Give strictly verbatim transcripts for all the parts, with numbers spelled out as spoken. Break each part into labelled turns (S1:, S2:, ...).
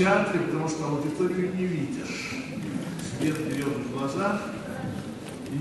S1: кинотеатре, потому что аудиторию не видишь. Свет бьет в глаза, и,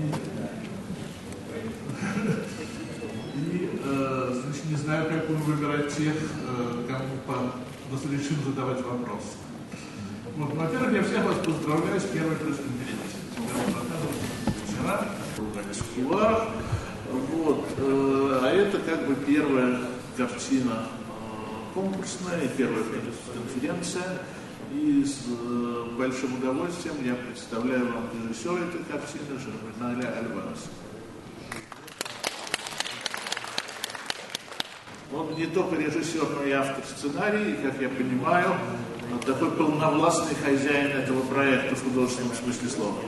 S1: и э, значит, не знаю, как будем выбирать тех, э, кому по, разрешим задавать вопросы. Вот, во-первых, я всех вас поздравляю с первой пресс-конференцией. Вчера в кулуарах. Вот, э, а это как бы первая картина э, конкурсная и первая конференция. И с э, большим удовольствием я представляю вам режиссера этой картины Жерменаля Альвареса. Он не только режиссер, но и автор сценария, и, как я понимаю, он такой полновластный хозяин этого проекта в художественном смысле слова.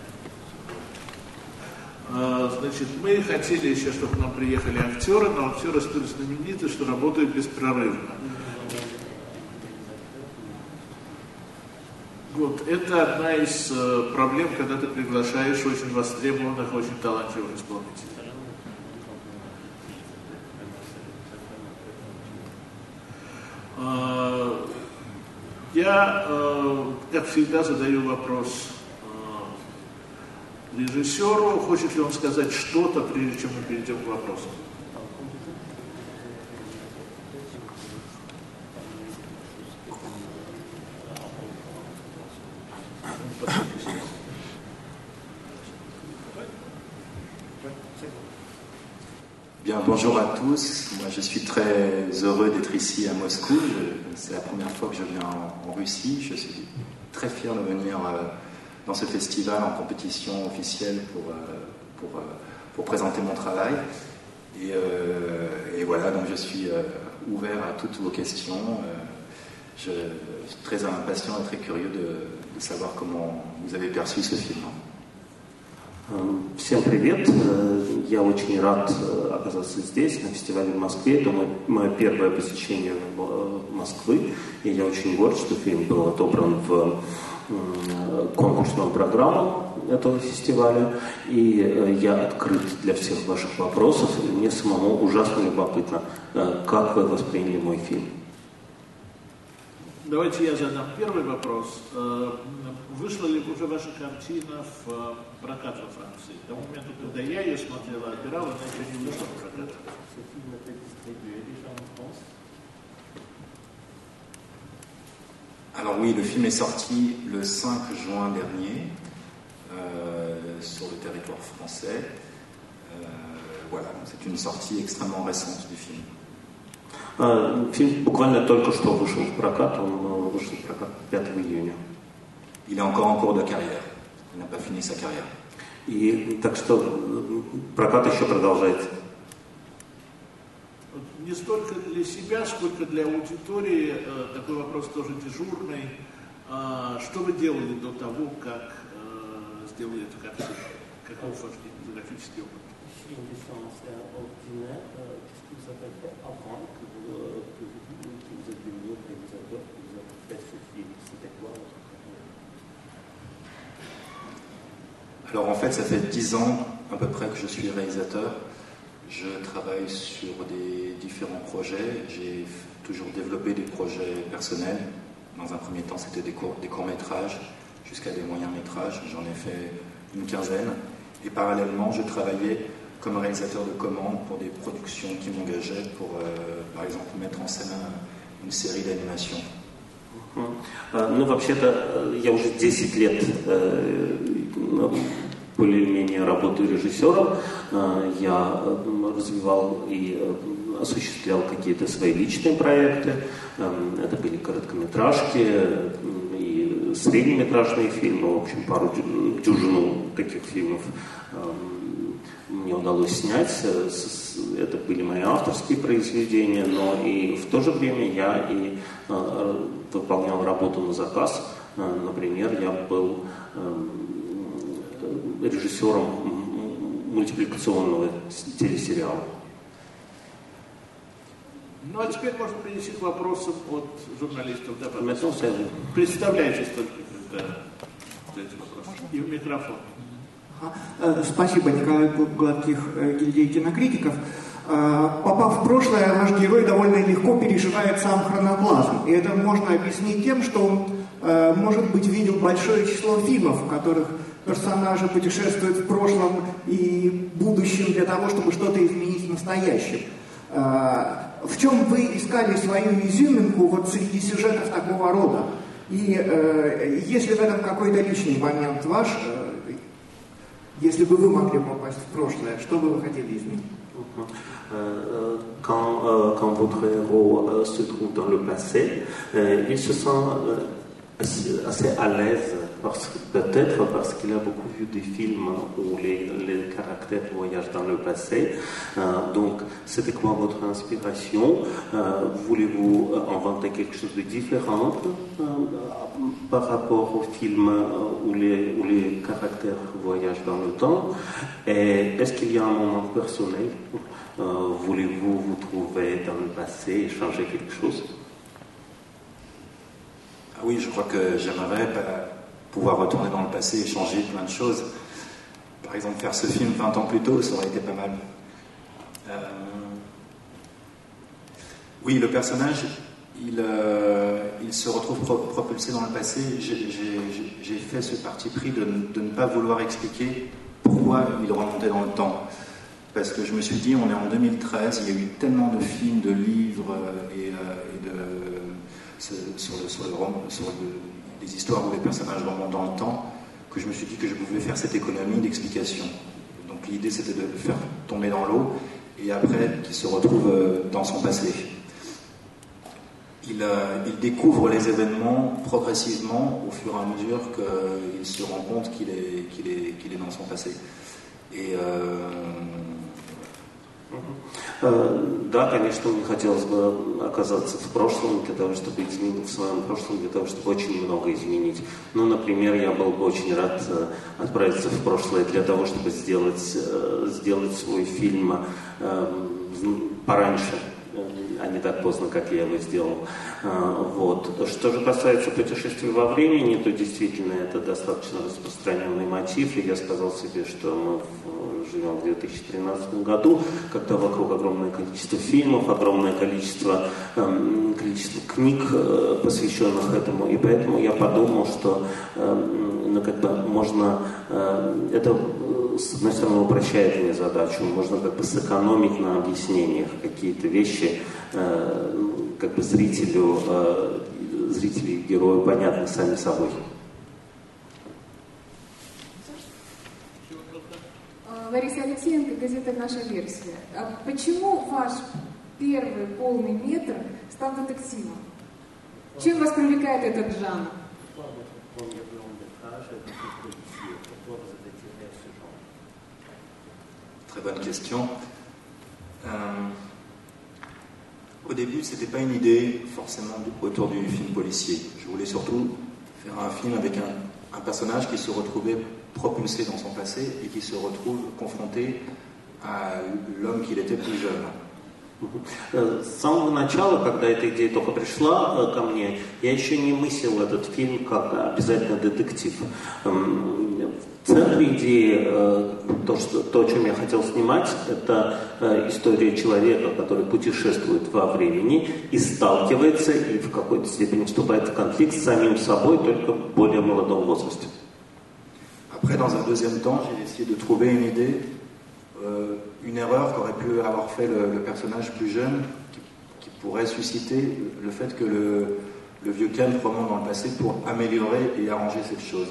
S1: Значит, мы хотели еще, чтобы к нам приехали актеры, но актеры столь знамениты, что работают беспрерывно. Вот, это одна из э, проблем, когда ты приглашаешь очень востребованных, очень талантливых исполнителей. Э, я, э, как всегда, задаю вопрос э, режиссеру, хочет ли он сказать что-то, прежде чем мы перейдем к вопросам.
S2: Bien, bonjour à tous. Moi, je suis très heureux d'être ici à Moscou. Je, c'est la première fois que je viens en, en Russie. Je suis très fier de venir euh, dans ce festival en compétition officielle pour, euh, pour, euh, pour présenter mon travail. Et, euh, et voilà, donc je suis euh, ouvert à toutes vos questions. Euh, je, je suis très impatient et très curieux de, de savoir comment vous avez perçu ce film.
S3: Всем привет! Я очень рад оказаться здесь, на фестивале в Москве. Это мое первое посещение Москвы, и я очень горд, что фильм был отобран в конкурсную программу этого фестиваля. И я открыт для всех ваших вопросов. И мне самому ужасно любопытно, как вы восприняли мой фильм.
S1: Давайте я задам первый вопрос. Вышла ли уже ваша картина в прокат во Франции? К тому моменту, когда я ее смотрела, отбирала, она еще не вышла в прокат.
S2: Alors oui, le film est sorti le cinq juin dernier euh, sur le territoire français. Euh, voilà, c'est une sortie extrêmement récente du film.
S3: Фильм буквально только что вышел в прокат, он вышел в прокат пятого июня.
S2: Il est encore en cours de carrière, il n'a pas fini sa carrière.
S3: И так что прокат еще продолжается.
S1: Не столько для себя, сколько для аудитории, такой вопрос тоже дежурный. Что вы делали до того, как сделали эту картину? Каков ваш графический опыт?
S2: Alors en fait, ça fait dix ans à peu près que je suis réalisateur. Je travaille sur des différents projets. J'ai toujours développé des projets personnels. Dans un premier temps, c'était des, courts, des courts-métrages jusqu'à des moyens-métrages. J'en ai fait une quinzaine. Et parallèlement, je travaillais comme réalisateur de commande pour des productions qui m'engageaient pour, euh, par exemple, mettre en scène une série d'animation.
S3: Ну, вообще-то, я уже десять лет более-менее работаю режиссером. Я развивал и осуществлял какие-то свои личные проекты. Это были короткометражки и среднеметражные фильмы, в общем, пару дюжину таких фильмов мне удалось снять. Это были мои авторские произведения, но и в то же время я и выполнял работу на заказ. Например, я был режиссером мультипликационного телесериала.
S1: Ну, а теперь можно перейти к вопросам от журналистов. Да, представляйтесь только, когда задаете вопрос. И в микрофон.
S4: Спасибо, Николай Гладких, гильдии кинокритиков. Попав в прошлое, наш герой довольно легко переживает сам хроноплазм. И это можно объяснить тем, что он э, может быть, видел большое число фильмов, в которых персонажи путешествуют в прошлом и будущем для того, чтобы что-то изменить в настоящем. Э, в чем вы искали свою изюминку вот среди сюжетов такого рода? И э, есть ли в этом какой-то личный момент ваш, э, если бы вы могли попасть в прошлое, что бы вы хотели изменить?
S3: Quand, euh, quand votre héros euh, se trouve dans le passé, euh, il se sent euh, assez, assez à l'aise, parce, peut-être parce qu'il a beaucoup vu des films où les, les caractères voyagent dans le passé. Euh, donc, c'était quoi votre inspiration? euh, Voulez-vous inventer quelque chose de différent euh, par rapport aux films où les, où les caractères voyagent dans le temps? Et est-ce qu'il y a un moment personnel? euh, Voulez-vous vous trouver dans le passé et changer quelque chose?
S2: Ah oui, je crois que j'aimerais bah, pouvoir retourner dans le passé et changer plein de choses. Par exemple, faire ce film vingt ans plus tôt, ça aurait été pas mal. Euh... Oui, le personnage, il, euh, il se retrouve pro propulsé dans le passé. J'ai fait ce parti pris de, de ne pas vouloir expliquer pourquoi il remontait dans le temps. Parce que je me suis dit, on est en deux mille treize, il y a eu tellement de films, de livres et, euh, et de, sur, le, sur, le, sur le, les histoires où les personnages remontent dans le temps, que je me suis dit que je pouvais faire cette économie d'explication. Donc l'idée, c'était de le faire tomber dans l'eau et après qu'il se retrouve dans son passé. Il, euh, il découvre les événements progressivement au fur et à mesure qu'il se rend compte qu'il est, qu'il est, qu'il est dans son passé. Et euh...
S3: Да, конечно, мне хотелось бы оказаться в прошлом для того, чтобы изменить в своем прошлом, для того, чтобы очень много изменить. Ну, например, я был бы очень рад отправиться в прошлое для того, чтобы сделать, сделать свой фильм пораньше, а не так поздно, как я его сделал. Вот. Что же касается путешествий во времени, то действительно это достаточно распространенный мотив, и я сказал себе, что мы живем в две тысячи тринадцатом году, когда вокруг огромное количество фильмов, огромное количество, э, количество книг, э, посвященных этому, и поэтому я подумал, что э, ну, как бы можно, э, это с одной стороны упрощает мне задачу, можно как бы сэкономить на объяснениях какие-то вещи, э, как бы зрителю, э, зрителю и герою понятны сами собой.
S5: Лариса Алексеенко, газета «Наша версия». А почему ваш первый полный метр стал детективом? Чем вас привлекает этот жанр?
S2: Très bonne question. Euh, au début, c'était pas une idée forcément autour du film policier. Je voulais surtout faire un film avec un, un personnage qui se retrouvait propulsé dans son passé et qui se retrouve confronté à l'homme qu'il était plus jeune.
S3: С самого начала, когда эта идея только пришла ко мне, я еще не мыслил этот фильм как обязательно детектив. В центре идеи, то, что, то, о чем я хотел снимать, это история человека, который путешествует во времени и сталкивается, и в какой-то степени вступает в конфликт с самим собой, только в более молодом возрасте.
S2: Après, dans un deuxième temps, j'ai essayé de trouver une idée, euh, une erreur qu'aurait pu avoir fait le, le personnage plus jeune, qui, qui pourrait susciter le fait que le, le vieux Ken remonte dans le passé pour améliorer et arranger cette chose.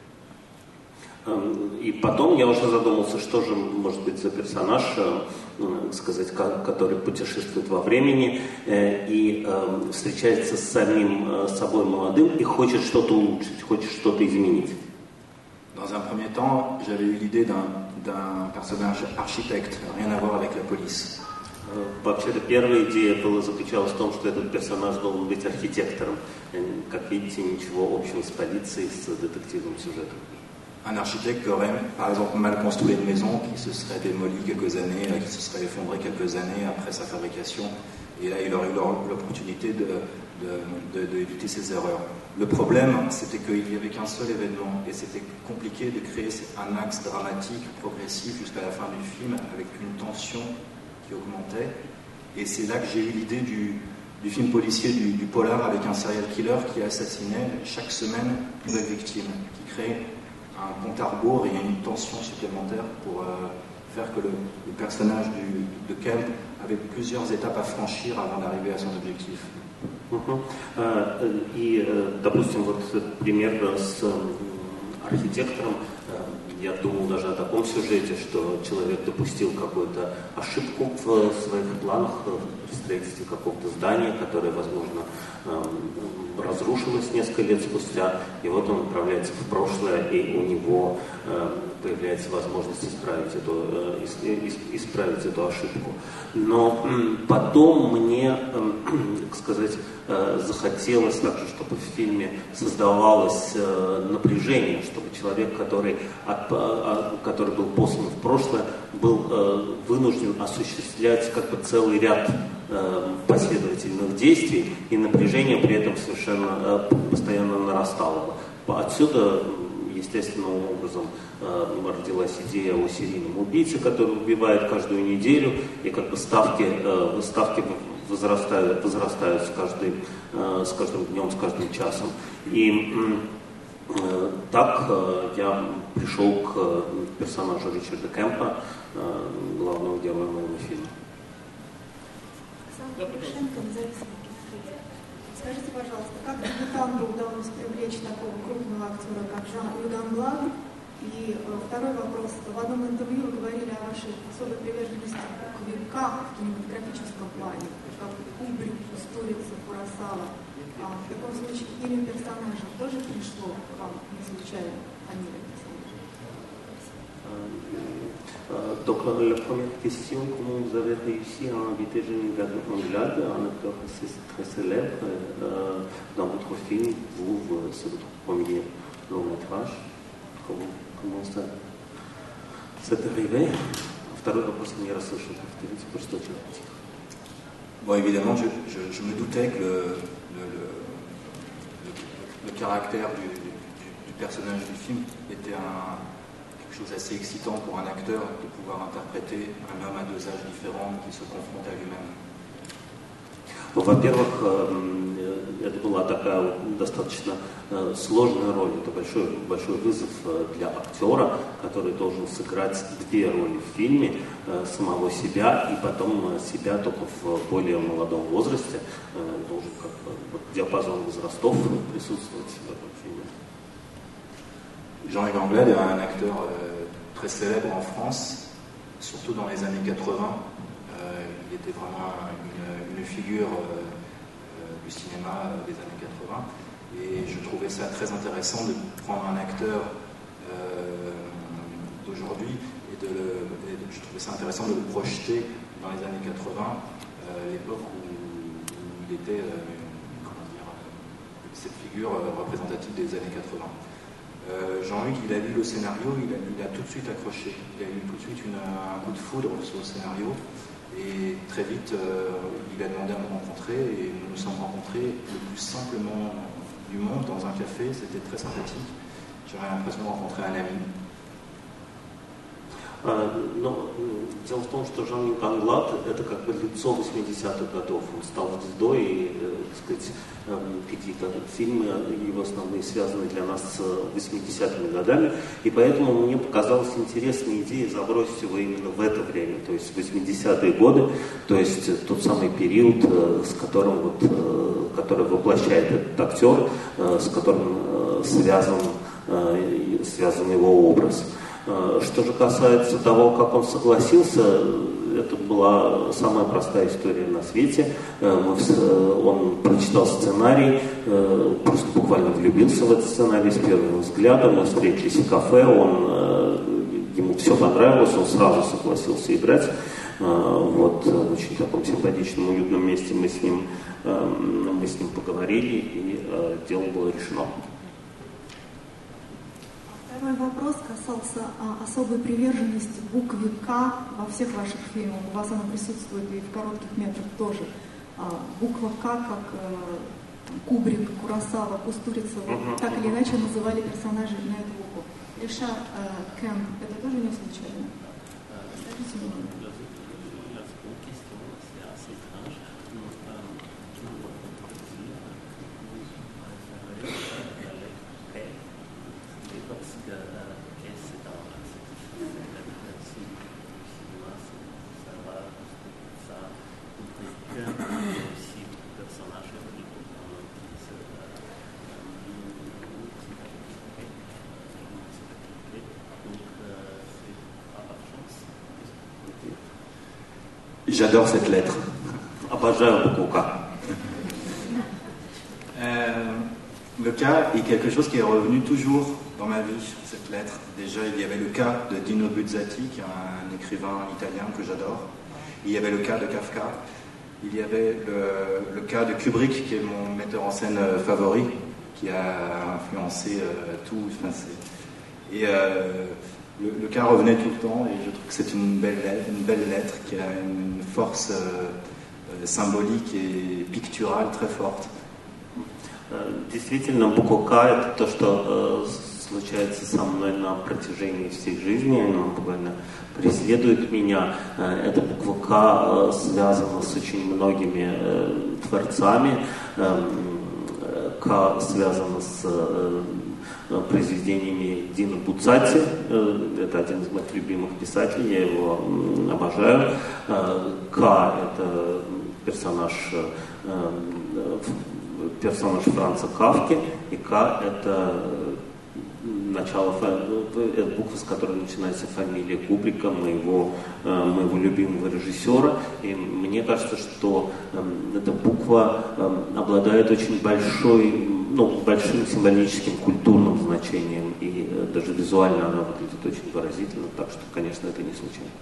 S3: И потом я уже задумался, что же может быть за персонаж, сказать, который путешествует во времени и встречается с самим собой молодым и хочет что-то улучшить, хочет что-то изменить.
S2: Dans un premier temps, j'avais eu l'idée d'un, d'un personnage architecte, rien à voir avec la police.
S3: Вообще-то первая идея была заключалась в том, что этот персонаж должен быть архитектором. Как видите, ничего общего с полицией, с детективным сюжетом.
S2: Un architecte qui aurait, par exemple, mal construit une maison qui se serait démolie quelques années, qui se serait effondrée quelques années après sa fabrication. Et là, il aurait eu l'opportunité de, de, de, de éviter ses erreurs. Le problème, c'était qu'il n'y avait qu'un seul événement et c'était compliqué de créer un axe dramatique, progressif jusqu'à la fin du film avec une tension qui augmentait. Et c'est là que j'ai eu l'idée du, du film policier, du, du polar, avec un serial killer qui assassinait chaque semaine une nouvelle victime, qui crée un compte à rebours et une tension supplémentaire pour euh, faire que le, le personnage du, de Kemp avait plusieurs étapes à franchir avant d'arriver à son objectif.
S3: Uh-huh. uh, и, допустим, вот пример с архитектором, я думал даже о таком сюжете, что человек допустил какую-то ошибку в своих планах при строительстве какого-то здания, которое, возможно, разрушилось несколько лет спустя, и вот он отправляется в прошлое, и у него появляется возможность исправить эту, исправить эту ошибку. Но потом мне, так сказать, захотелось также, чтобы в фильме создавалось напряжение, чтобы человек, который, который был послан в прошлое, был вынужден осуществлять как бы целый ряд последовательных действий, и напряжение при этом совершенно постоянно нарастало бы. Отсюда естественным образом э, родилась идея о серийном убийце, который убивает каждую неделю, и как бы ставки, э, ставки возрастают, возрастают с, каждым, э, с каждым днем, с каждым часом. И э, так э, я пришел к персонажу Ричарда Кемпа, э, главного героя моего фильма.
S6: Скажите, пожалуйста, как дебютанту удалось привлечь такого крупного актера, как Жан-Люк Англад? И э, второй вопрос. В одном интервью вы говорили о вашей особой приверженности к векам в кинематографическом плане, как Кубрик, Кустурица, Куросава. А в таком случае имя персонажа тоже пришло к вам не случайно, а не
S3: Donc la première question, comment vous avez réussi à inviter Jean-Luc Anglade, un acteur assez très célèbre euh, dans votre film, vous, c'est votre premier long métrage. Comment, comment ça c'est arrivé? Второй вопрос не расслышал, повторите, просто очень тихо.
S2: Bon, évidemment, je, je, je me doutais que le, le, le, le, le caractère du, du, du personnage du film était un chose assez excitant pour un acteur de pouvoir interpréter un homme à deux âges différents qui se confronte à lui-même.
S3: Во-первых, это была такая достаточно сложная роль, это большой, большой вызов для актера, который должен сыграть две роли в фильме, самого себя и потом себя только в более молодом возрасте, должен как бы диапазон возрастов присутствовать в этом фильме.
S2: Jean-Luc Anglade est un acteur euh, très célèbre en France, surtout dans les années quatre-vingts. Euh, il était vraiment une, une figure euh, euh, du cinéma des années quatre-vingts. Et je trouvais ça très intéressant de prendre un acteur euh, d'aujourd'hui et, de le, et de, je trouvais ça intéressant de le projeter dans les années quatre-vingts, euh, l'époque où, où il était euh, comment dire, cette figure représentative des années quatre-vingts. Euh, Jean-Luc, il a lu le scénario, il a, il a tout de suite accroché. Il a eu tout de suite une, un coup de foudre sur le scénario. Et très vite, euh, il a demandé à me rencontrer et nous nous sommes rencontrés le plus simplement du monde dans un café. C'était très sympathique. J'avais l'impression de rencontrer un ami.
S3: Но дело в том, что Жан-Люк Англад — это как бы лицо восьмидесятых годов. Он стал звездой, и, так сказать, какие-то фильмы его основные связаны для нас с восьмидесятыми годами, и поэтому мне показалась интересная идея забросить его именно в это время, то есть восьмидесятые годы, то есть тот самый период, с которым вот, который воплощает этот актер, с которым связан, связан его образ. Что же касается того, как он согласился, это была самая простая история на свете. Он прочитал сценарий, просто буквально влюбился в этот сценарий с первого взгляда. Мы встретились в кафе, он, ему все понравилось, он сразу согласился играть. Вот, в очень таком симпатичном, уютном месте мы с ним, мы с ним поговорили, и дело было решено.
S6: Второй вопрос касался а, особой приверженности букве К во всех ваших фильмах. У вас она присутствует и в коротких метрах тоже. А, буква К, как э, Кубрик, Куросава, Кустурица, uh-huh. так или иначе называли персонажей на эту букву. Ришар э, Кемп, это тоже не случайно? Скажите мне.
S2: J'adore cette lettre.
S3: Обожаю букву К.
S2: Euh, le cas est quelque chose qui est revenu toujours dans ma vie, cette lettre. Déjà, il y avait le cas de Dino Buzzati, qui est un écrivain italien que j'adore. Il y avait le cas de Kafka. Il y avait le, le cas de Kubrick, qui est mon metteur en scène favori, qui a influencé euh, tout. Enfin, c'est... Et euh, le, le cas revenait tout le temps, et je trouve que c'est une belle lettre, une belle lettre qui a une force euh, euh, symbolique et picturale très forte.
S3: Действительно, буква К — это то, что э, случается со мной на протяжении всей жизни, она буквально преследует меня. Э, эта буква К э, связана с очень многими э, творцами. Э, К связана с э, произведениями Дино Буццати. Э, это один из моих любимых писателей, я его э, обожаю. Э, К — это персонаж э, персонаж Франца Кафки, и К — это начало, это буква, с которой начинается фамилия Кубрика, моего, моего любимого режиссера. И мне кажется, что эта буква обладает очень большой, ну, большим символическим культурным значением, и даже визуально она выглядит очень выразительно, так что, конечно, это не случайно.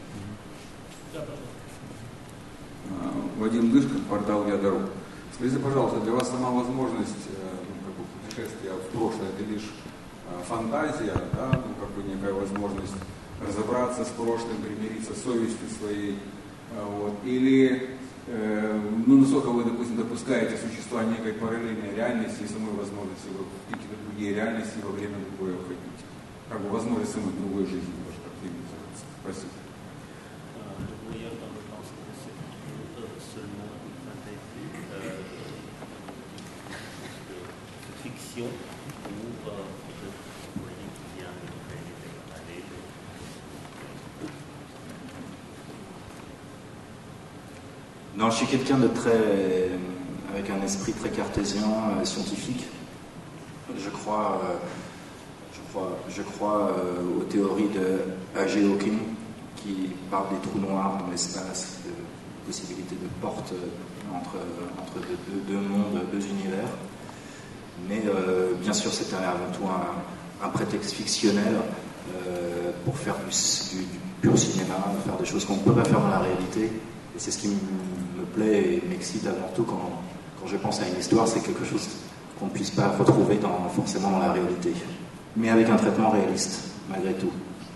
S7: Вадим Дышкин, портал «Я дорог». Скажите, пожалуйста, для вас сама возможность ну, как бы путешествия в прошлое — это лишь фантазия, да, ну, как бы некая возможность разобраться с прошлым, примириться с совестью своей, вот, или, э, ну, насколько вы, допустим, допускаете существование некой параллельной реальности и самой возможности в какие-то другие реальности во время другой охотники, как бы возможность самой другой жизни, может, как это называется. Спасибо.
S2: Non, je suis quelqu'un de très, avec un esprit très cartésien, euh, scientifique. Je crois, euh, je crois, je crois euh, aux théories de A G Hawking, qui parle des trous noirs dans l'espace, de possibilité de porte entre, entre deux, deux mondes, deux univers. Mais euh, bien sûr, c'était avant tout un, un prétexte fictionnel euh, pour faire du, du, du pur cinéma, faire des choses qu'on ne peut pas faire dans la réalité. Et c'est ce qui me plaît et m'excite avant tout quand, quand je pense à une histoire, c'est quelque chose qu'on ne puisse pas retrouver dans, forcément dans la réalité, mais avec un traitement réaliste, malgré tout.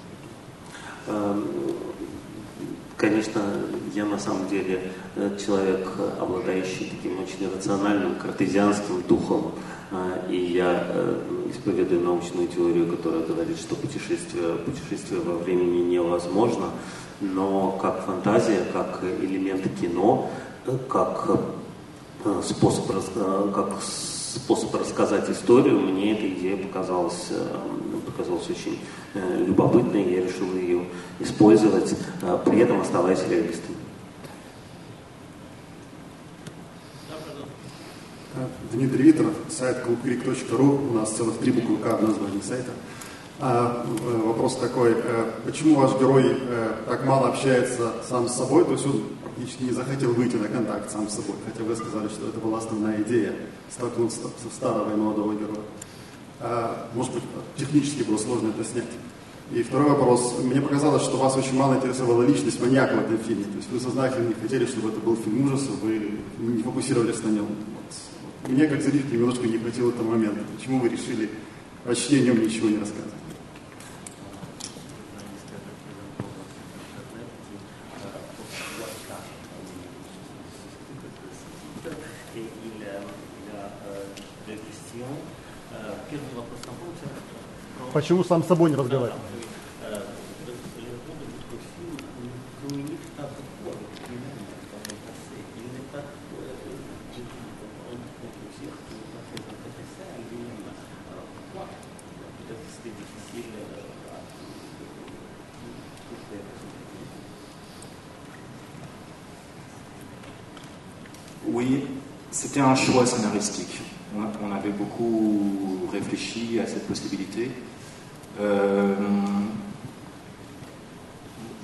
S3: Конечно, я на самом деле человек, обладающий таким очень рациональным картезианским духом, и я исповедую научную теорию, которая говорит, что путешествие, путешествие во времени невозможно, но как фантазия, как элемент кино, как способ, как способ рассказать историю, мне эта идея показалась, показалась очень любопытной, и я решил ее использовать, при этом оставаясь реалистом.
S8: Дмитрий Виторов, сайт клуб крик точка ру, у нас целых три буквы К в названии сайта. А, вопрос такой, почему ваш герой так мало общается сам с собой, то есть он практически не захотел выйти на контакт сам с собой, хотя вы сказали, что это была основная идея, столкнуться со старого и молодого героя. А, может быть, технически было сложно это снять. И второй вопрос, мне показалось, что вас очень мало интересовала личность маньяка в этом фильме, то есть вы сознательно не хотели, чтобы это был фильм ужасов, вы не фокусировались на нем. Вот. Мне, как зрителю, немножко не хватило этого момента. Почему вы решили почти о нем ничего не рассказывать? Почему сам с собой не разговаривал?
S2: Oui, c'était un choix scénaristique. On, on avait beaucoup réfléchi à cette possibilité. Euh,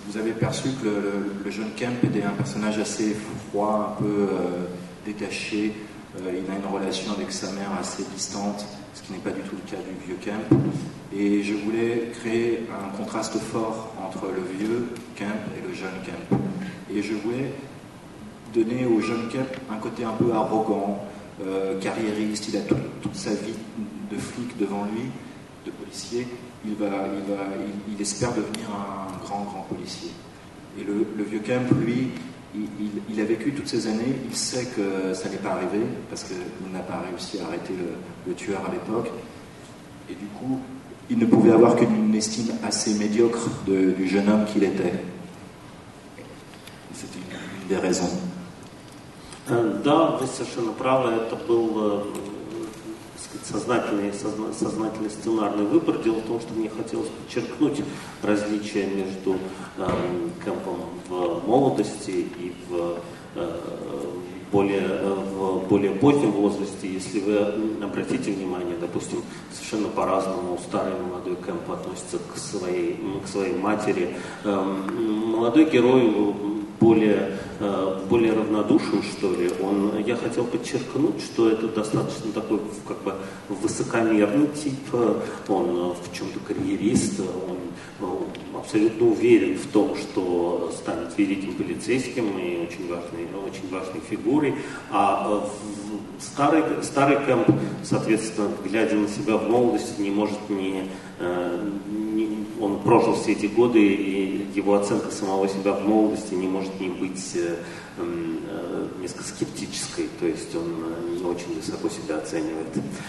S2: vous avez perçu que le, le, le jeune Kemp était un personnage assez froid, un peu euh, détaché. Euh, il a une relation avec sa mère assez distante, ce qui n'est pas du tout le cas du vieux Kemp. Et je voulais créer un contraste fort entre le vieux Kemp et le jeune Kemp. Et je voulais donner au jeune Kemp un côté un peu arrogant, euh, carriériste. Il a tout, toute sa vie de flic devant lui, de policier. Il, va, il, va, il, il espère devenir un grand, grand policier. Et le, le vieux Kemp, lui, il, il, il a vécu toutes ces années, il sait que ça n'est pas arrivé, parce qu'il n'a pas réussi à arrêter le, le tueur à l'époque. Et du coup, il ne pouvait avoir qu'une estime assez médiocre de, du jeune homme qu'il était. C'était une, une des raisons.
S3: Да, вы совершенно правы, это был сознательный, созна, сознательный сценарный выбор. Дело в том, что мне хотелось подчеркнуть различия между э, Кэмпом в молодости и в, э, более, в более позднем возрасте. Если вы обратите внимание, допустим, совершенно по-разному старый и молодой Кэмп относится к своей, к своей матери. Э, молодой герой более, более равнодушен, что ли. Он, я хотел подчеркнуть, что это достаточно такой как бы высокомерный тип, он в чем-то карьерист, он абсолютно уверен в том, что станет великим полицейским и очень важной, очень важной фигурой. А старый, старый Кэмп, соответственно, глядя на себя в молодости, не может не, не он прожил все эти годы, и его оценка самого себя в молодости не может не быть э, э, несколько скептической, то есть он не очень высоко себя оценивает.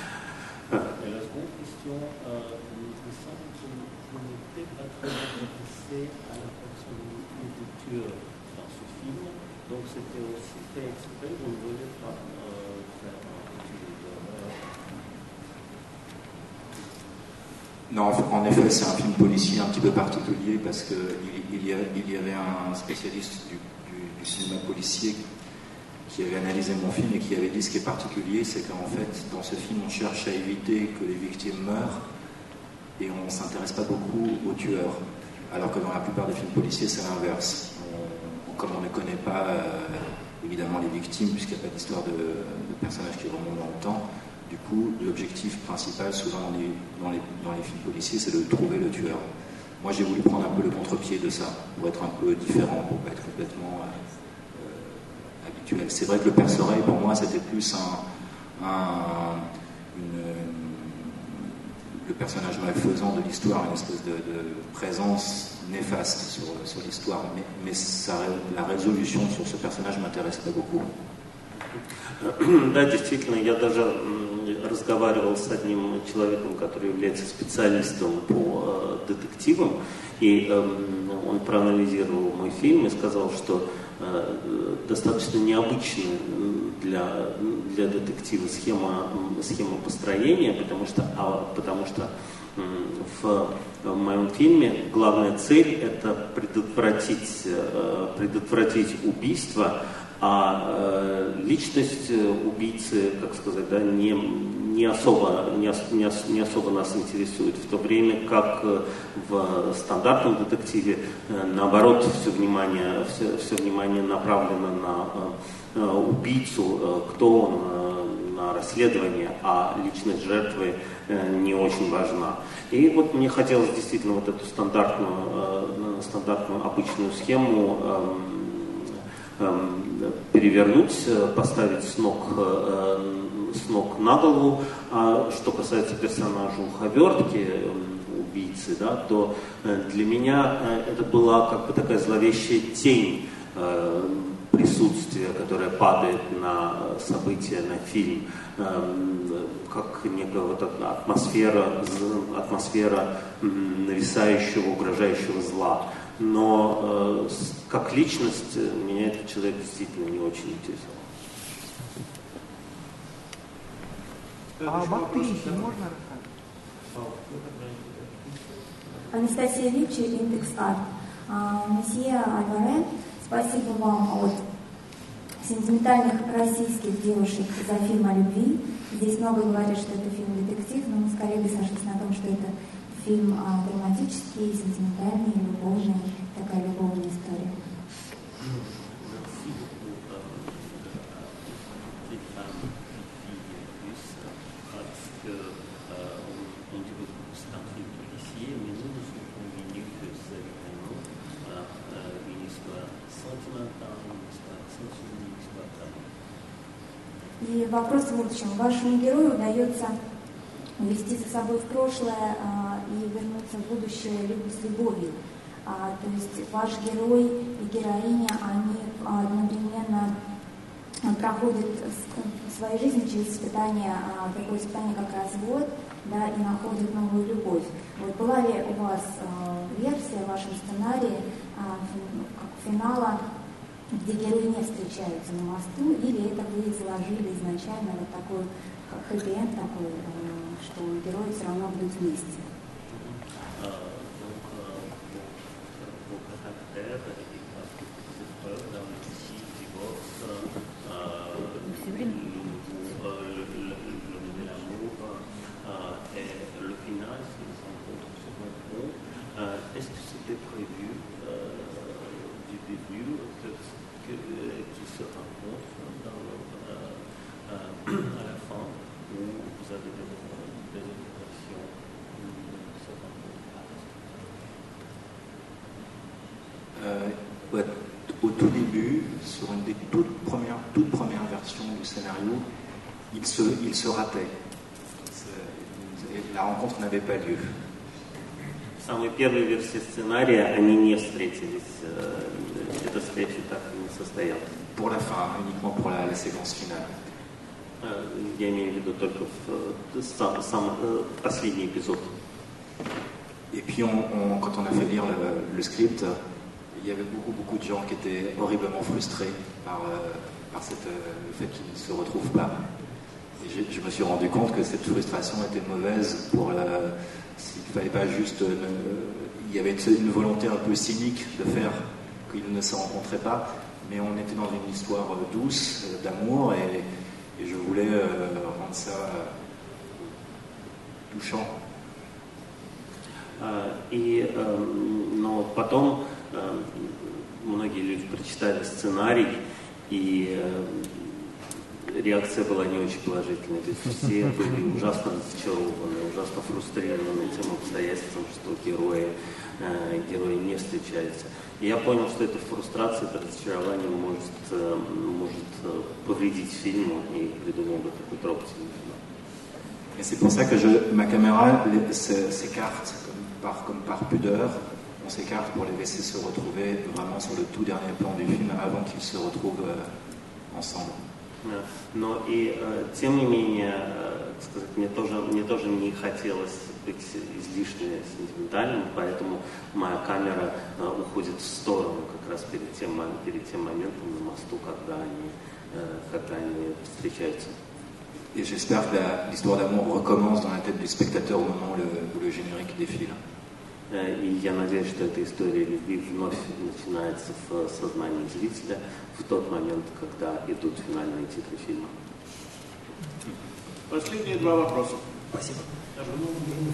S2: Non, en effet, c'est un film policier un petit peu particulier parce qu'il il y, il y avait un spécialiste du, du, du cinéma policier qui avait analysé mon film et qui avait dit ce qui est particulier, c'est qu'en fait, dans ce film, on cherche à éviter que les victimes meurent et on ne s'intéresse pas beaucoup aux tueurs. Alors que dans la plupart des films policiers, c'est l'inverse. On, comme on ne connaît pas euh, évidemment les victimes, puisqu'il n'y a pas d'histoire de, de personnages qui remontent dans le temps, du coup, l'objectif principal, souvent dans les, dans les, dans les films policiers, c'est de trouver le tueur. Moi, j'ai voulu prendre un peu le contre-pied de ça, pour être un peu différent, pour pas être complètement euh, habituel. C'est vrai que le Père Soreille, pour moi, c'était plus un, un, une, le personnage malfaisant de l'histoire, une espèce de, de présence néfaste sur, sur l'histoire. Mais, mais ça, la résolution sur ce personnage m'intéresse pas beaucoup.
S3: Да, действительно, я даже разговаривал с одним человеком, который является специалистом по э, детективам, и э, он проанализировал мой фильм и сказал, что э, достаточно необычная для, для детектива схема, схема построения, потому что, а, потому что э, в, в моем фильме главная цель – это предотвратить, э, предотвратить убийство, а э, личность убийцы, как сказать, да, не, не, особо, не, не, не особо нас интересует, в то время как в стандартном детективе, э, наоборот, все внимание, все, все внимание направлено на э, убийцу, э, кто он, э, на расследование, а личность жертвы э, не очень важна. И вот мне хотелось действительно вот эту стандартную, э, стандартную обычную схему э, перевернуть, поставить с ног, с ног на голову. А что касается персонажа уховертки, убийцы, да, то для меня это была как бы такая зловещая тень присутствия, которая падает на события, на фильм, как некая вот атмосфера, атмосфера нависающего, угрожающего зла. Но э, как личность меня этот человек действительно не очень интересовал.
S4: А об актрисе можно рассказать?
S9: Анастасия Ричи, Индекс Арт. Месье Альваре, спасибо вам от сентиментальных российских девушек за фильм о любви. Здесь много говорят, что это фильм-детектив, но мы скорее бы сошлись на том, что это фильм а, драматический, сентиментальный, любовный, такая любовная И вопрос в будущем. Вашему герою удается увести за собой в прошлое а, и вернуться в будущее с любовью. А, то есть ваш герой и героиня, они одновременно проходят в своей жизни через испытание, а, такое испытание, как развод, да, и находят новую любовь. Вот была ли у вас а, версия в вашем сценарии а, финала, где герои не встречаются на мосту, или это вы изложили изначально вот такой хэппи-энд такой, что герои все равно будут вместе?
S3: Est-ce que c'était prévu euh, du début que, qu'ils se rencontrent dans le, euh, euh, à la fin, ou vous avez des, des obligations de se rencontrer?
S2: euh, ouais, Au tout début, sur une des toutes premières, toutes premières versions du scénario, il se, il se ratait. La rencontre n'avait pas lieu.
S3: В самой первой версии сценария они не встретились, эта встреча так и не состоялась.
S2: Pour la fin, uniquement pour la, la séquence finale.
S3: Я имею в виду только в сам, сам последний эпизод.
S2: Et puis, on, on, quand on a fait lire le, le script, il y avait beaucoup, beaucoup de gens qui étaient horriblement frustrés par, par cette, le fait qu'ils ne se retrouvent pas. Et je, je me suis rendu compte que cette frustration était mauvaise pour la... S'il ne fallait pas juste... Euh, il y avait une volonté un peu cynique de faire qu'ils ne se rencontraient pas, mais on était dans une histoire douce, d'amour, et, et je voulais euh, rendre ça euh, touchant.
S3: И, но потом многие люди прочитали сценарий, и реакция была не очень положительной. То есть все были ужасно разочарованы, ужасно фрустрированы тем обстоятельством, что герои, э, герои не встречаются. И я понял, что эта фрустрация, это разочарование может, э, может повредить фильму, и придумал бы такой трогательный финал.
S2: Et c'est pour ça que je, ma caméra s'écarte comme par, comme par pudeur. On s'écarte pour les laisser se retrouver vraiment sur le tout dernier plan du film avant qu'ils se retrouvent euh, ensemble.
S3: Но и э, тем не менее, э, сказать, мне тоже, мне тоже не хотелось быть излишне сентиментальным, поэтому моя камера э, уходит в сторону как раз перед тем, перед тем моментом на мосту, когда они, э, когда они встречаются.
S2: Et j'espère que la, l'histoire d'amour recommence dans la tête du spectateur au moment où le, où le générique défile.
S3: И я надеюсь, что эта история любви вновь начинается в сознании зрителя в тот момент, когда идут финальные титры фильма.
S1: Последние два вопроса.
S10: Спасибо. Разрешите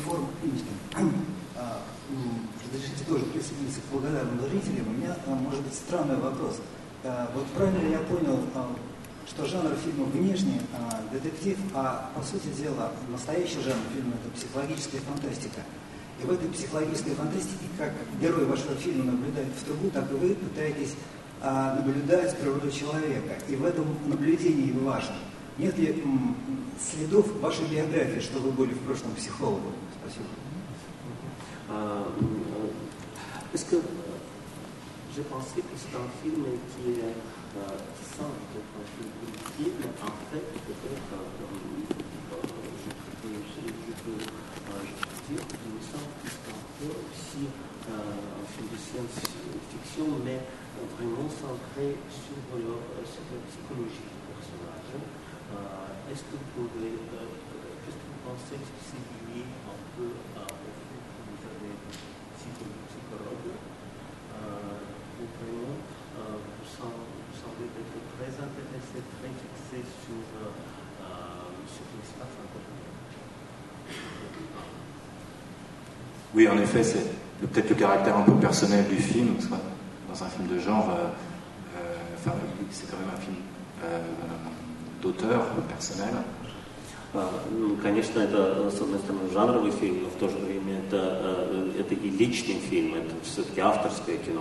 S10: тоже присоединиться к благодарным зрителям. У меня, может быть, странный вопрос. Вот правильно ли я понял, что жанр фильма внешне детектив, а по сути дела настоящий жанр фильма — это психологическая фантастика. И в этой психологической фантастике, как герой вашего фильма наблюдает в трубу, так и вы пытаетесь а, наблюдать природу человека. И в этом наблюдении важно. Нет ли м, следов вашей биографии, что вы были в прошлом психологом? Спасибо.
S3: Est-ce que j'ai pensé que c'est un film qui est simple, un film primitif, mais en fait, peut-être, je peux dire qu'il me semble que c'est un peu aussi un film de science-fiction, mais vraiment centré sur, leur, sur la psychologie du personnage. Est-ce que vous pouvez, qu'est-ce que vous pensez que c'est lié un peu au fait que vous avez psychologue, ou vraiment vous semblez être très intéressé, très fixé sur ce qui se passe en fait?
S2: Oui, en effet, c'est peut-être le caractère un peu personnel du film, parce que dans un film de genre, euh, euh, enfin, c'est quand même un film euh, d'auteur, personnel.
S3: Ну, конечно, это, с одной стороны, жанровый фильм, но в то же время это, это и личный фильм, это все-таки авторское кино.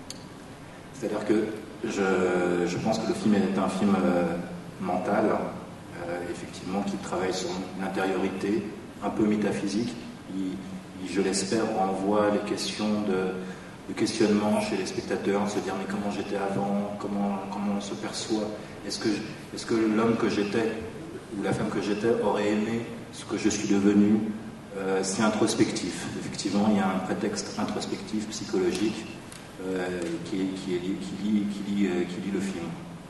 S2: C'est-à-dire que je, je pense que le film est un film euh, mental, euh, effectivement, qui travaille sur l'intériorité, un peu métaphysique. Il, il, je l'espère, renvoie les questions de, de questionnement chez les spectateurs, de se dire mais comment j'étais avant, comment, comment on se perçoit, est-ce que, est-ce que l'homme que j'étais ou la femme que j'étais aurait aimé ce que je suis devenu. Euh, c'est introspectif. Effectivement, il y a un prétexte introspectif, psychologique, euh, qui, qui, qui, qui, lie, qui, lie, euh, qui lie le film.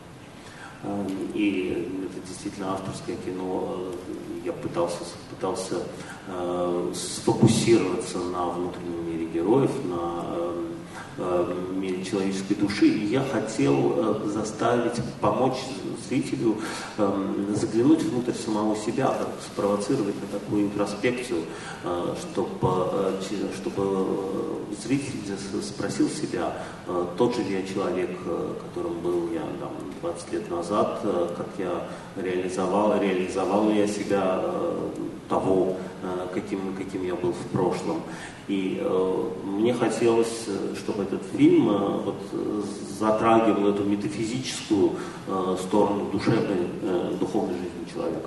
S3: И это действительно авторское кино. Я пытался, пытался э, сфокусироваться на внутреннем мире героев, на э, мире человеческой души. И я хотел э, заставить, помочь зрителю э, заглянуть внутрь самого себя, как спровоцировать на такую интроспекцию, э, чтобы, э, чтобы зритель спросил себя, э, тот же ли я человек, э, которым был я там, двадцать лет назад, э, как я реализовал, реализовал я себя э, того, э, каким, каким я был в прошлом. И э, мне хотелось, чтобы этот фильм э, вот, затрагивал эту метафизическую э, сторону душевной, э, духовной жизни человека.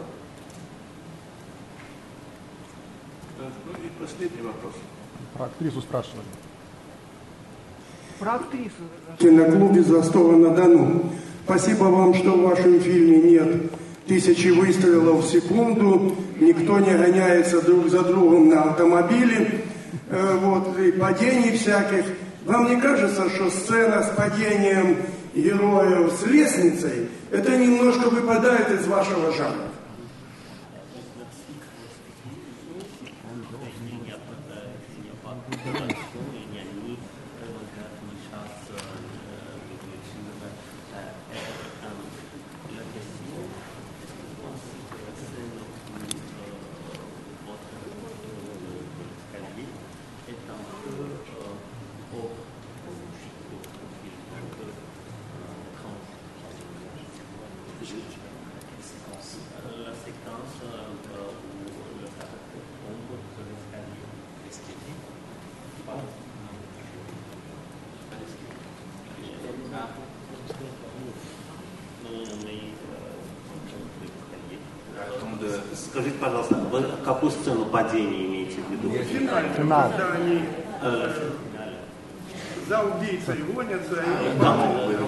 S1: Ну и последний вопрос.
S11: Про актрису спрашивали.
S12: Про актрису.
S13: В киноклубе Застова-на-Дону. Спасибо вам, что в вашем фильме нет тысячи выстрелов в секунду, никто не гоняется друг за другом на автомобиле, э, вот, и падений всяких. Вам не кажется, что сцена с падением героев с лестницей, это немножко выпадает из вашего жанра?
S3: Скажите, пожалуйста, вы какую сцену падения имеете в виду?
S13: Финальную, когда они э, за убийцей гонятся и падают.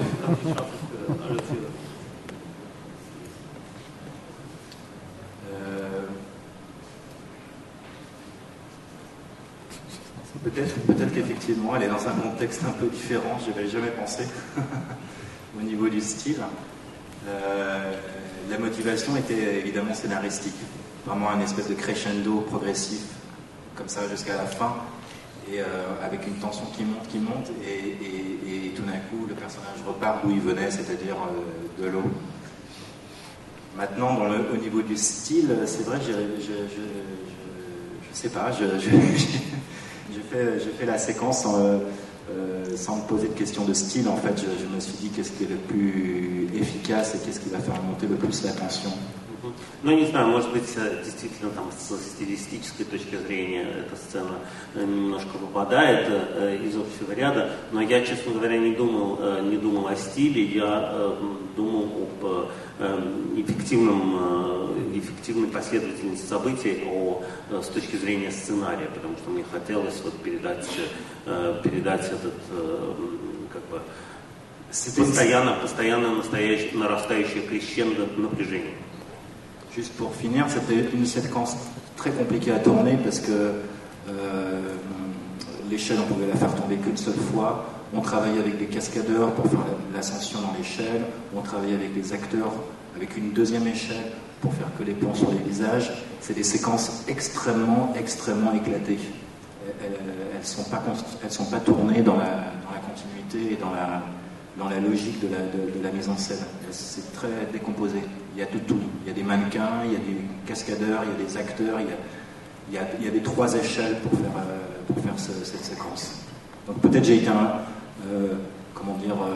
S2: Peut-être, peut-être qu'effectivement, elle est dans un contexte un peu différent, je n'avais jamais pensé, au niveau du style. Euh, la motivation était évidemment scénaristique, vraiment un espèce de crescendo progressif, comme ça jusqu'à la fin, et euh, avec une tension qui monte, qui monte, et, et, et tout d'un coup, le personnage repart d'où il venait, c'est-à-dire euh, de l'eau. Maintenant, dans le, au niveau du style, c'est vrai que je, je, je, je, je sais pas, je, je, j'ai fait, j'ai fait la séquence en, euh, sans me poser de questions de style. En fait, je, je me suis dit qu'est-ce qui est le plus efficace et qu'est-ce qui va faire monter le plus l'attention.
S3: Ну, не знаю, может быть, действительно, там, с стилистической точки зрения эта сцена немножко выпадает из общего ряда, но я, честно говоря, не думал, не думал о стиле, я думал об эффективном, эффективной последовательности событий о, с точки зрения сценария, потому что мне хотелось вот передать, передать этот, как бы, постоянно, постоянно настоящее, нарастающее крещендо напряжение.
S2: Juste pour finir, c'était une séquence très compliquée à tourner parce que euh, l'échelle, on pouvait la faire tomber qu'une seule fois. On travaillait avec des cascadeurs pour faire l'ascension dans l'échelle. On travaillait avec des acteurs avec une deuxième échelle pour faire que les plans sur les visages. C'est des séquences extrêmement, extrêmement éclatées. Elles ne sont pas, elles sont pas tournées dans la, dans la continuité et dans la, dans la logique de la, de, de la mise en scène. C'est très décomposé. Il y a de tout. Il y a des mannequins, il y a des cascadeurs, il y a des acteurs, il y a, il y a, il y a des trois échelles pour faire, euh, pour faire ce, cette séquence. Donc peut-être j'ai été un, euh, comment dire, euh,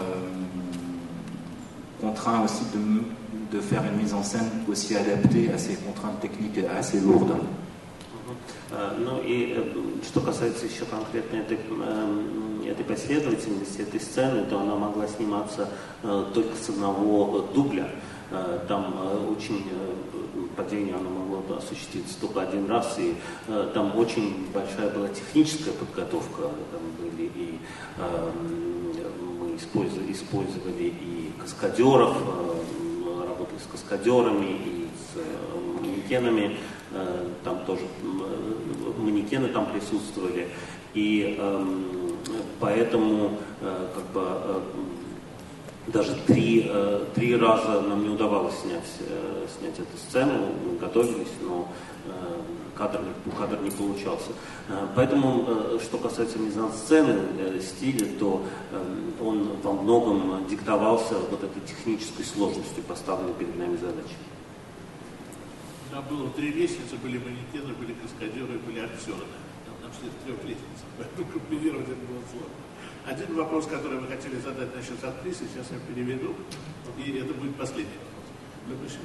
S2: contraint aussi de, de faire une mise en scène aussi adaptée à ces contraintes techniques assez lourdes.
S3: Ну и что касается еще конкретно этой этой последовательности, этой сцены, то она могла сниматься только с одного дубля. Там очень падение оно могло осуществиться только один раз, и там очень большая была техническая подготовка, там были и мы использовали, использовали и каскадеров, работали с каскадерами и с манекенами, там тоже манекены там присутствовали, и поэтому как бы даже три, три раза нам не удавалось снять, снять эту сцену, мы готовились, но кадр, кадр не получался. Поэтому, что касается мизансцены, стиля, то он во многом диктовался вот этой технической сложностью поставленной перед нами задачи.
S1: Там было три лестницы, были манекены, были каскадеры, были актеры. Нам шли в трех лестницах, поэтому комбинировать это было сложно. Один вопрос, который вы хотели задать насчет актрисы, сейчас я переведу, и это будет последний вопрос.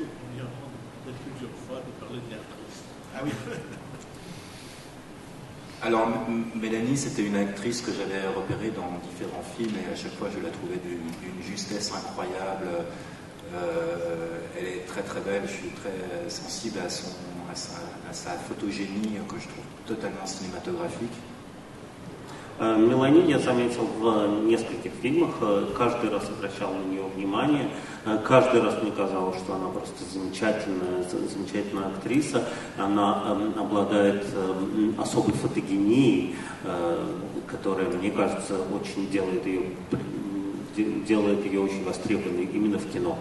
S2: Alors, Mélanie, c'était une actrice que j'avais repérée dans différents films et à chaque fois je la trouvais d'une, d'une justesse incroyable. Euh, elle est très très belle, je suis très sensible à, son, à, sa, à sa photogénie que je trouve totalement cinématographique.
S3: Мелани я заметил в нескольких фильмах, каждый раз обращал на нее внимание, каждый раз мне казалось, что она просто замечательная, замечательная актриса, она обладает особой фотогенией, которая, мне кажется, очень делает ее, делает ее очень востребованной именно в кино.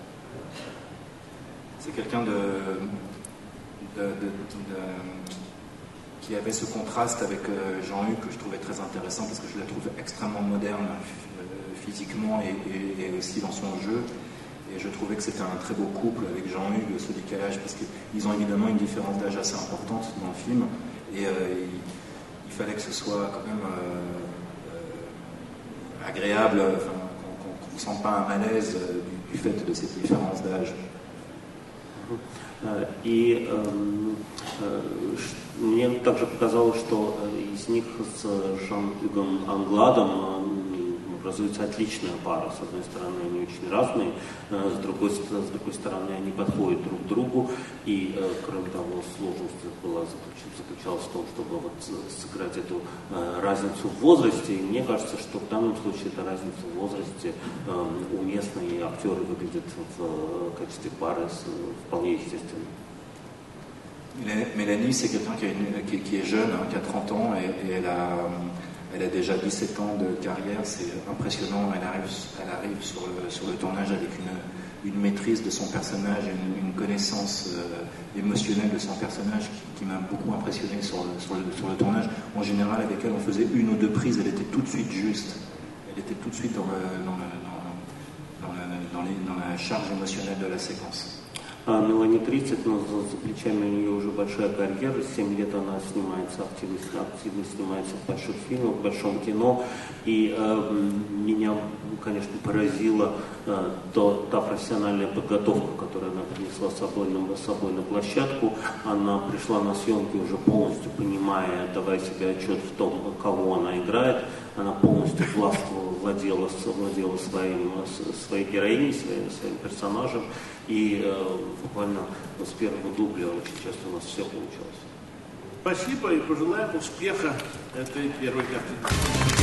S2: C'est quelqu'un de, de, de, de, qui avait ce contraste avec Jean-Hugues que je trouvais très intéressant parce que je la trouve extrêmement moderne physiquement et, et, et aussi dans son jeu. Et je trouvais que c'était un très beau couple avec Jean-Hugues, ce décalage, parce qu'ils ont évidemment une différence d'âge assez importante dans le film. Et euh, il, il fallait que ce soit quand même euh, euh, agréable, enfin, qu'on ne sente pas un malaise du, du fait de cette différence d'âge.
S3: И э, э, мне также показалось, что из них с Жан-Югом Англадом образуется отличная пара. С одной стороны, они очень разные, с другой, с другой стороны, они подходят друг к другу. И, кроме того, сложность была, заключалась в том, чтобы вот сыграть эту разницу в возрасте. И мне кажется, что в данном случае эта разница в возрасте уместна, и актеры выглядят в качестве пары вполне естественно.
S2: Mélanie, c'est quelqu'un qui, une, qui, qui est jeune, hein, qui a trente ans, et, et elle, a, elle a déjà dix-sept ans de carrière, c'est impressionnant. Elle arrive, elle arrive sur, le, sur le tournage avec une, une maîtrise de son personnage, une, une connaissance euh, émotionnelle de son personnage qui, qui m'a beaucoup impressionné sur le, sur, le, sur le tournage. En général, avec elle, on faisait une ou deux prises, elle était tout de suite juste. Elle était tout de suite dans, le, dans, le, dans, dans, le, dans, les, dans la charge émotionnelle de la séquence.
S3: Мелани тридцать, но за плечами у нее уже большая карьера. семь лет она снимается, активно, активно снимается в больших фильмах, в большом кино. И э, меня, конечно, поразила э, то, та профессиональная подготовка, которую она принесла с собой, на, с собой на площадку. Она пришла на съемки уже полностью понимая, давая себе отчет в том, кого она играет. Она полностью владела, владела своим, своей героиней, своим, своим персонажем. И э, буквально с первого дубля очень часто у нас все получалось.
S1: Спасибо и пожелаем успеха этой первой картины.